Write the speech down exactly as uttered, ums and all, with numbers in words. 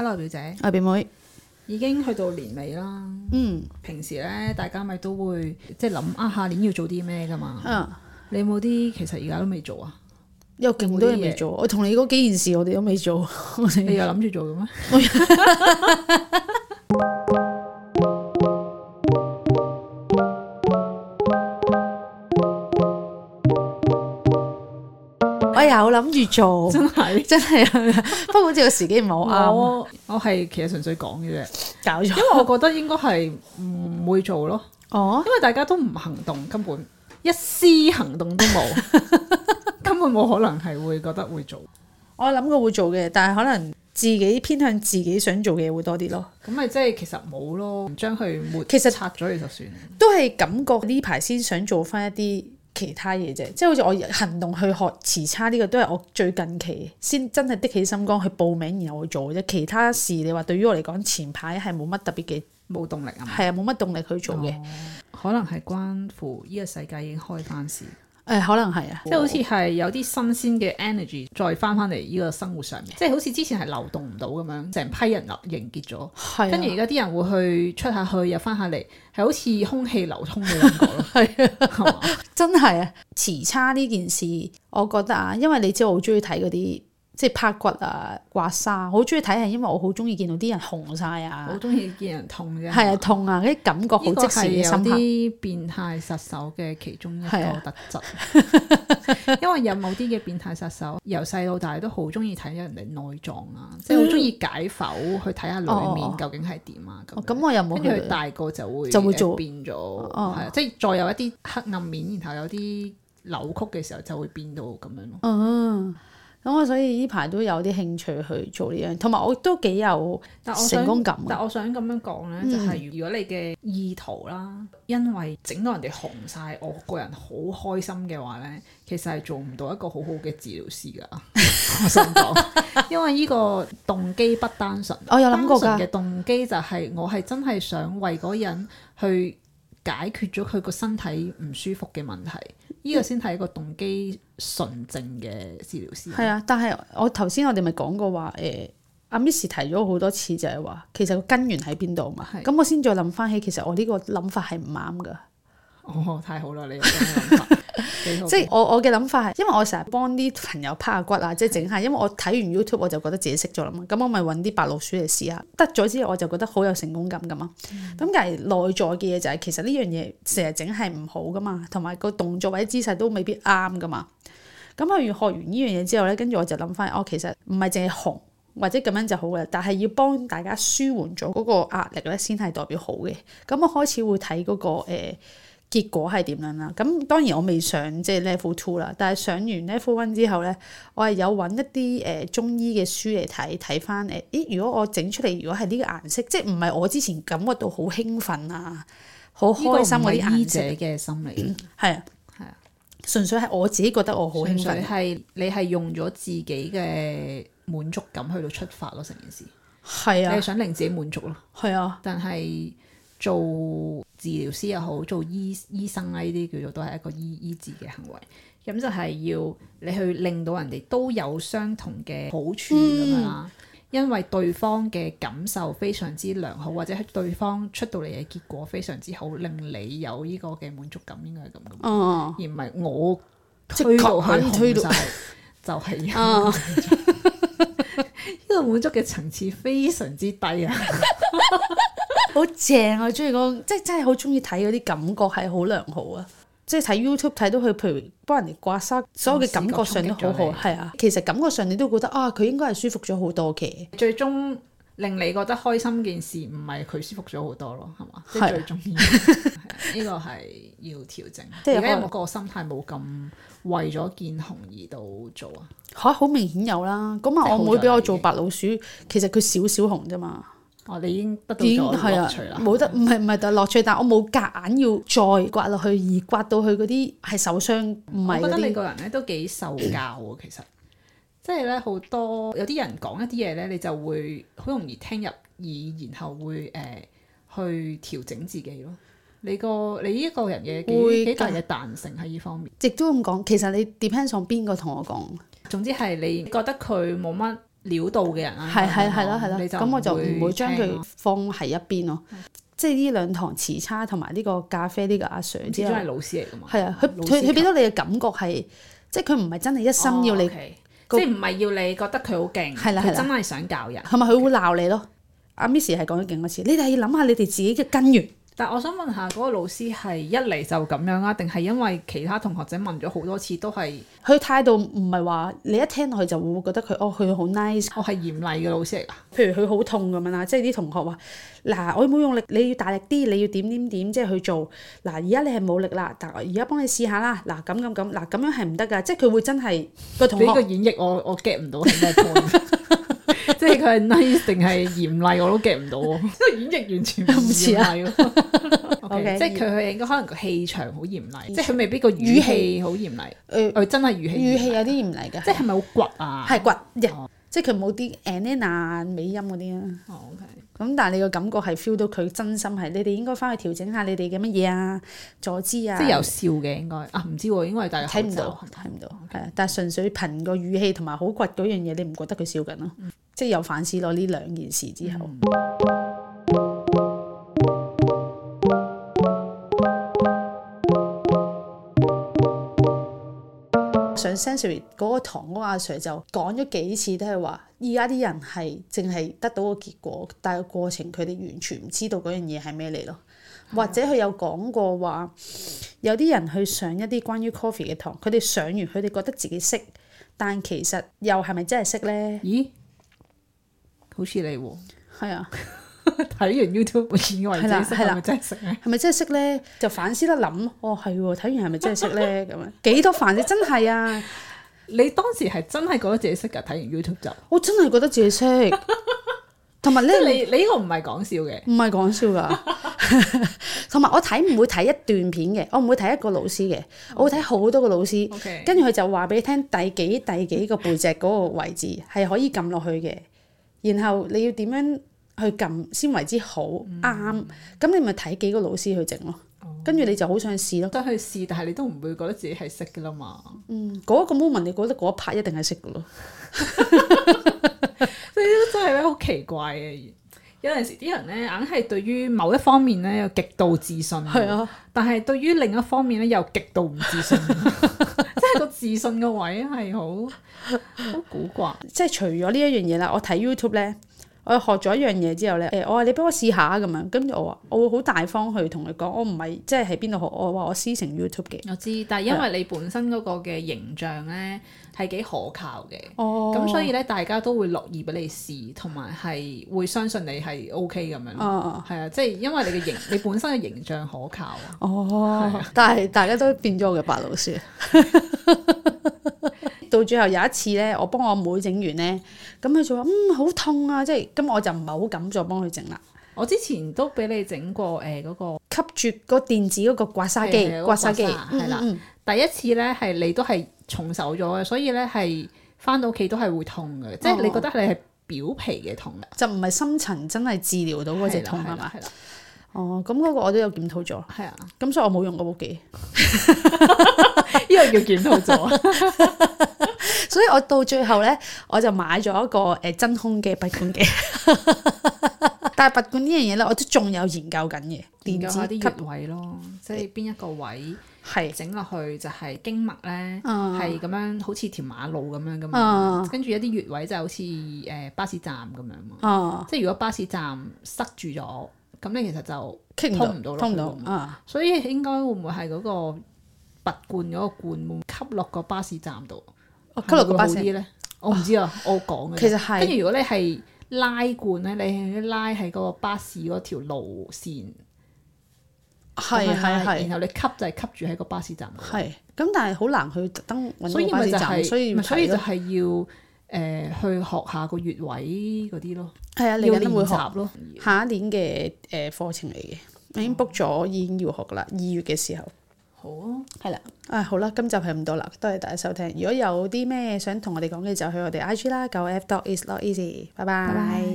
Hello 表姐， 阿表妹， 已經去到年尾啦。 嗯， 平時咧大家咪都會即係諗啊下年要做啲咩噶嘛。 嗯， 你有冇啲其實而家都未做啊？ 有勁多嘢未做。我同你嗰幾件事我哋都未做。 你又諗住做嘅咩？ 我有諗住做， 真係真係啊！不過好似個時機唔係好啱。 我我係其實純粹講嘅啫， 搞錯。 因為我覺得應該係唔會做咯。哦，因為大家都唔行動，根本一絲行動都冇，根本冇可能係會覺得會做。 我諗過會做嘅，但係可能自己偏向自己想做嘅嘢會多啲咯。 咁咪即係其實冇咯，唔將佢抹其實拆咗你就算。 都係感覺呢排先想做翻一啲其他嘢啫，即係好似我行動去學持叉呢個都係我最近期先真係的起心肝去報名然後去做啫。其他事你話對於我嚟講前排係冇乜特別嘅，冇動力啊，係啊，冇乜動力去做嘅。哦， 可能係關乎呢個世界已經開翻市。 誒，可能係啊， 即係好似係有啲新鮮嘅 energy 再翻翻嚟呢個生活上面，即係好似之前係流動唔到咁樣，成批人凝結咗，係啊，跟住而家啲人會去出下去又翻下嚟，係好似空氣流通嘅感覺咯。係啊，係嘛？真係啊！持叉呢件事，我覺得啊，因為你知我好中意睇嗰啲即係拍骨啊、刮痧，好中意睇係因為我好中意見到啲人紅晒啊，好中意見人痛啫。係啊，痛啊，啲感覺好即時嘅深刻。有啲變態殺手嘅其中一個特質，啊、因為有某啲嘅變態殺手由細到大都好中意睇人哋內臟啊，嗯、即係好中意解剖去睇下裡面究竟係點啊。咁咁、哦、我又冇。跟住佢大個就會就會做變咗，係、哦、啊，即係再有一啲黑暗面，然後有啲扭曲嘅時候就會變到咁樣咯。嗯。咁我所以呢排都有啲興趣去做呢樣，同埋我都幾有成功感。但我想咁樣講呢，就係、是、如果你嘅意圖啦，因為整到人哋紅晒，我個人好開心嘅話呢，其實係做唔到一個好好嘅治療師㗎。我想講，因為呢個動機不單純。我有諗過㗎。單純嘅動機就係我係真係想為嗰人去解決咗佢個身體唔舒服嘅問題。呢、這個先係一個動機純正嘅治療師。係啊，但係我頭先我哋咪講過話，誒阿 Miss 提咗好多次就係話，其實個根源喺邊度嘛？咁我先再諗翻起，其實我呢個諗法係唔啱㗎。哦，太好啦！你有咁嘅諗法，即係我我嘅諗法係，因為我成日幫啲朋友拍下骨啊，即係整下，因為我睇完 YouTube 我就覺得自己識咗啦嘛，咁我咪揾啲白老鼠嚟試下，得咗之後我就覺得好有成功感㗎嘛。咁但係內在嘅嘢就係、是、其實呢樣嘢成日整係唔好㗎嘛，同埋個動作或者姿勢都未必啱㗎嘛。咁我學完呢樣嘢之後咧，跟住我就諗翻，哦，其實唔係淨係紅或者咁樣就好嘅，但係要幫大家舒緩咗嗰個壓力咧，先係代表好嘅。咁我開始會睇嗰、那個誒。呃結果係點樣啦？咁當然我未上即係 level two 啦，但係上完 level one 之後咧，我係有揾一啲誒、呃、中醫嘅書嚟睇睇翻誒，咦？如果我整出嚟，如果係呢個顏色，即係唔係我之前感覺到好興奮啊、好開心嗰啲顏色嘅心理，係啊係啊，純粹係我自己覺得我好興奮，係你係用咗自己嘅滿足感去到出發咯，成件事係啊，你係想令自己滿足咯，係啊，但係。做治療師又好，做醫醫生啊，呢啲叫做都係一個醫醫治嘅行為。咁就係要你去令到人哋都有相同嘅好處咁樣啦。因為對方嘅感受非常之良好，或者係對方出到嚟嘅結果非常之好，令你有呢個嘅滿足感，應該係咁嘅。哦，而唔係我推到去推到就係呢、哦、個滿足嘅層次非常之低啊！好正啊！我中意嗰，即係真係好中意睇嗰啲感覺係好良好啊！即係睇 YouTube 睇到佢，譬如幫人哋刮痧，所有嘅感覺上都好好，係啊。其實感覺上你都覺得啊，佢應該係舒服咗好多嘅。最終令你覺得開心件事，唔係佢舒服咗好多咯，係嘛？即係最重要。呢個係要調整。即係而家有冇個心態冇咁為咗見紅而到做啊？嚇，好明顯有啦。咁啊，我妹俾我做白老鼠，其實佢少少紅啫嘛。哦，你已經得到咗樂趣啦，冇得唔係唔係就樂趣，但我冇夾硬要再刮落去，而刮到佢嗰啲係受傷，唔係嗰啲。我覺得你個人咧都幾受教喎，其實即係咧好多有啲人講一啲嘢咧，你就會好容易聽入耳，然後會誒、呃、去調整自己咯。你個你呢個人嘅幾幾大嘅彈性喺呢方面，亦都咁講。其實你 depends on 邊個同我講，總之係你覺得佢冇乜料到嘅人啊， 係係係啦係啦，咁我就唔會將佢放喺一邊咯。即係呢兩堂時差同埋呢個咖啡呢個阿 Sir 之後， 始終係老師嚟㗎嘛。係啊，佢佢佢俾到你嘅感覺係，即係佢唔係真係一心要你， 即係唔係要你覺得佢好勁，佢真係想教人。 係咪佢會鬧你咯？阿 Miss 係講咗勁多次，你哋要諗下你哋自己嘅根源。 但我想問下嗰個老師係一嚟就咁樣啊，定係因為其他同學仔問咗好多次都係佢態度唔係話你一聽落去就會覺得佢哦佢好 nice， 我係嚴厲嘅老師嚟㗎。 譬如佢好痛咁樣啦，即係啲同學話嗱我冇用力，你要大力啲，你要點點點即係去做嗱，而家你係冇力啦，但而家幫你試下啦，嗱咁咁咁嗱咁樣係唔得㗎，即係佢會真係個同學呢個演繹我我 get 唔到係咩 point。即係佢係 nice 定係嚴厲我都 get 唔到喎，即係演繹完全唔似啊。Okay, 即係佢佢應該可能個氣場好嚴厲，即係佢未必個語氣好嚴厲。誒、呃，真係語氣語氣有啲嚴厲㗎， 即係係咪好倔啊？ 係倔嘅，哦、即係佢冇啲 anana 尾音嗰啲啊。 哦 OK。 咁但係你個感覺係 feel 到佢真心係，你哋應該翻去調整下你哋嘅乜嘢啊，坐姿啊。 即係有笑嘅應該啊，唔知喎，應該係戴口罩。睇唔到，睇唔到，係啊 Okay.！但係純粹憑個語氣同埋好倔嗰樣嘢，你唔覺得佢笑緊咯？嗯、即係有反思咯，呢兩件事之後。嗯上 sensory 嗰個堂嗰個阿 Sir 就講咗幾次都係話，而家啲人係淨係得到個結果，但係個過程佢哋完全唔知道嗰樣嘢係咩嚟咯。的或者佢有講過話，有啲人去上一啲關於 coffee 嘅堂，佢哋上完佢哋覺得自己識，但其實又係咪真係識咧？咦？ 好似你喎。係啊。睇完 YouTube 以為自己識，係咪真係識咧？係咪真係識咧？就反思得諗，哦係喎，睇完係咪真係識咧？咁樣幾多反思？真係啊！ 你當時係真係覺得自己識㗎？睇完 YouTube 就我真係覺得自己識，同埋咧， 你你呢個唔係講笑嘅， 唔係講笑㗎。同埋我睇唔會睇一段片嘅，我唔會睇一個老師嘅，我會睇好多個老師。 Okay. 跟住佢就話俾你聽第幾第幾個背脊嗰個位置係可以撳落去嘅，然後你要點樣去撳先為之好啱，咁、嗯、你咪睇幾個老師去整咯，跟住、哦、你就好想試咯。 都去試，但係你都唔會覺得自己係識㗎啦嘛。 嗯，嗰、那個 moment 你覺得嗰一 part 一定係識㗎咯。 所以真係咧好奇怪嘅，有陣時啲人咧硬係對於某一方面咧有極度自信，係啊，但係對於另一方面咧又極度唔自信，即係個自信嘅位係好好古怪。即係除咗呢一樣嘢啦，我睇 YouTube 咧。我學咗一樣嘢之後咧，誒我話你俾我試下咁樣，跟住我話我會好大方去同佢講，我唔係即係喺邊度學，我話我師承 YouTube 嘅。我知，但係因為你本身嗰個嘅形象咧係幾可靠嘅，咁、哦、所以咧大家都會樂意俾你試，同埋係會相信你係 OK 咁樣。哦，係啊，即係因為你嘅形，你本身嘅形象可靠啊。哦，啊、但係大家都變咗我嘅白老師。到最後有一次咧，我幫我妹整完咧，咁佢就話嗯好痛啊，即係咁我就唔係好敢再幫佢整啦。我之前都俾你整過誒嗰、呃那個吸住個電子嗰個刮痧機，的刮痧機係啦。第一次咧係你都係重手咗嘅，所以咧係翻到屋企都係會痛嘅，哦、即係你覺得你係表皮嘅痛，就唔係深層真係治療到嗰隻痛係嘛？係啦。哦，咁嗰個我都有檢討咗，係啊，咁所以我冇用嗰部機，呢個叫檢討咗。所以我到最後咧，我就買咗一個誒真空嘅拔罐機。但係拔罐呢樣嘢咧，我都仲有研究緊嘅，研究下啲穴位咯，即係邊一個位係整落去就係經脈咧，係咁樣好似條馬路咁樣噶嘛。跟住一啲穴位就好似誒巴士站咁樣嘛。即係如果巴士站塞住咗。咁你其實就通唔到，通唔到啊！所以應該會唔會係嗰個拔罐嗰個罐會吸落個巴士站度？吸落個巴士咧？我唔知啊，我講嘅。其實係跟住如果你係拉罐咧，你係拉喺嗰個巴士嗰條路線，係係係，然後你吸就係吸住喺個巴士站度。係咁，但係好難去特登揾個巴士站，所以所以就係要。誒、呃、去學下個穴位嗰啲咯，係啊，嚟緊會學咯。下一年嘅誒課程嚟嘅，我已經 book 咗，已經要學噶啦。二月嘅時候，好啊，係啦，啊好啦，今集係咁多啦，多謝大家收聽。如果有啲咩想同我哋講嘅，就去我哋 I G 啦，九 F dot is not easy，拜拜。